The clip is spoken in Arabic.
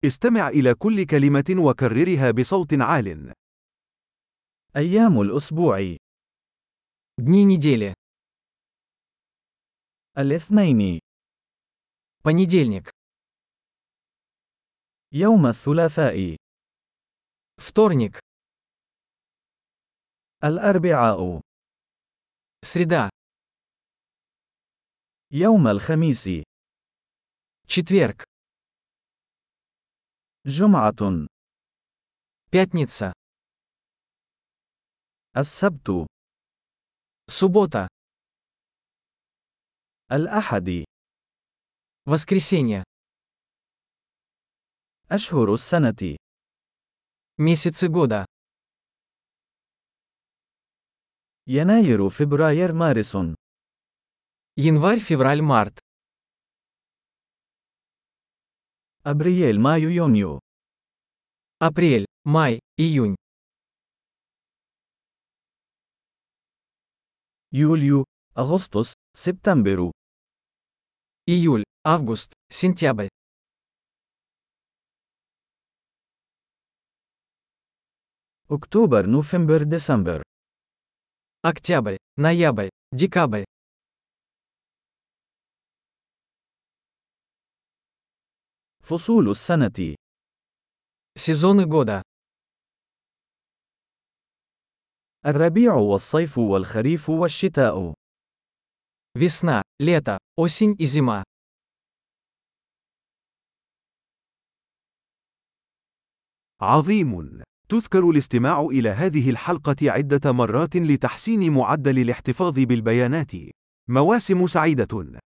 استمع إلى كل كلمة وكررها بصوت عال. أيام الأسبوع: Дни недели. الاثنين، Понедельник. يوم الثلاثاء، Вторник. الأربعاء، Среда. يوم الخميس، Четверг. جمعة، Пятница. السبت، Суббота. الأحد. Воскресенье. أشهر السنة: Месяцы года. يناير، فبراير، مارس. Январь, февраль, март. أبريل، مايو، يونيو. Апрель, май, июнь. يوليو، أغسطس، سبتمبر. Июль, август, сентябрь. أكتوبر، نوفمبر، ديسمبر. Октябрь, ноябрь, декабрь. فصول السنة: Сезоны года. الربيع والصيف والخريف والشتاء. Весна, лето, осень и зима. عظيم. تذكر الاستماع إلى هذه الحلقة عدة مرات لتحسين معدل الاحتفاظ بالبيانات. مواسم سعيدة.